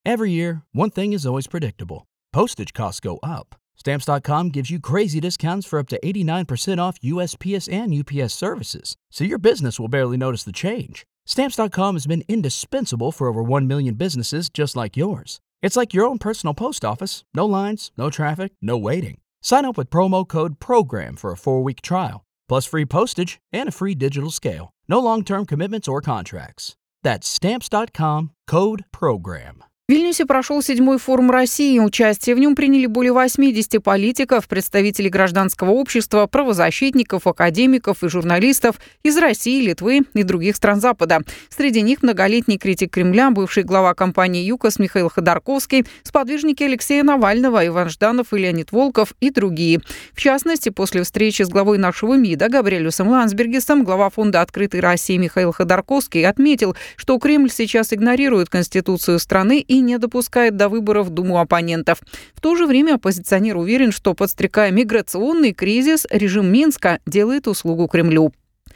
Every year, one thing is always predictable. Postage costs go up. Stamps.com gives you crazy discounts for up to 89% off USPS and UPS services, so your business will barely notice the change. Stamps.com has been indispensable for over 1 million businesses just like yours. It's like your own personal post office. No lines, no traffic, no waiting. Sign up with promo code PROGRAM for a 4-week trial, plus free postage and a free digital scale. No long-term commitments or contracts. That's Stamps.com, code PROGRAM. В Вильнюсе прошел 7-й форум России. Участие в нем приняли более 80 политиков, представителей гражданского общества, правозащитников, академиков и журналистов из России, Литвы и других стран Запада. Среди них многолетний критик Кремля, бывший глава компании «ЮКОС» Михаил Ходорковский, сподвижники Алексея Навального, Иван Жданов и Леонид Волков и другие. В частности, после встречи с главой нашего МИДа Габриэлюсом Лансбергисом глава фонда «Открытой России» Михаил Ходорковский отметил, что Кремль сейчас игнорирует Конституцию страны и не допускает до выборов в Думу оппонентов. В то же время оппозиционер уверен, что, подстрекая миграционный кризис, режим Минска делает услугу Кремлю.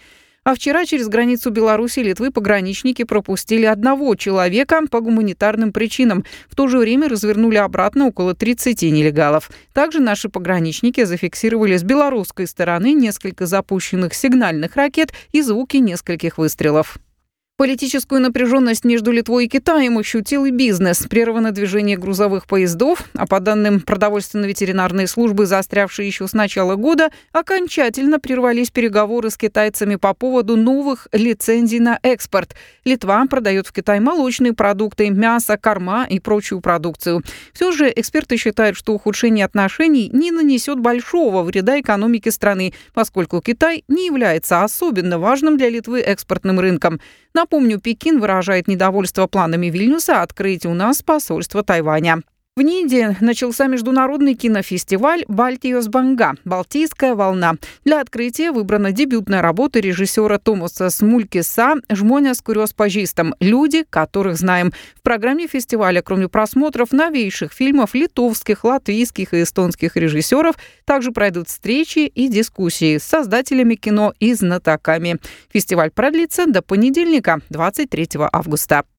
А вчера через границу Беларуси и Литвы пограничники пропустили одного человека по гуманитарным причинам. В то же время развернули обратно около 30 нелегалов. Также наши пограничники зафиксировали с белорусской стороны несколько запущенных сигнальных ракет и звуки нескольких выстрелов. Политическую напряженность между Литвой и Китаем ощутил и бизнес. Прервано движение грузовых поездов, а по данным продовольственно-ветеринарной службы, заострявшие еще с начала года, окончательно прервались переговоры с китайцами по поводу новых лицензий на экспорт. Литва продает в Китай молочные продукты, мясо, корма и прочую продукцию. Все же эксперты считают, что ухудшение отношений не нанесет большого вреда экономике страны, поскольку Китай не является особенно важным для Литвы экспортным рынком. Напомню, Пекин выражает недовольство планами Вильнюса открыть у нас посольство Тайваня. В Ниде начался международный кинофестиваль «Балтийос Банга» «Балтийская волна». Для открытия выбрана дебютная работа режиссера Томаса Смулькиса «Жмоня скурёс пажистом. Люди, которых знаем». В программе фестиваля, кроме просмотров новейших фильмов литовских, латвийских и эстонских режиссеров, также пройдут встречи и дискуссии с создателями кино и знатоками. Фестиваль продлится до понедельника, 23 августа.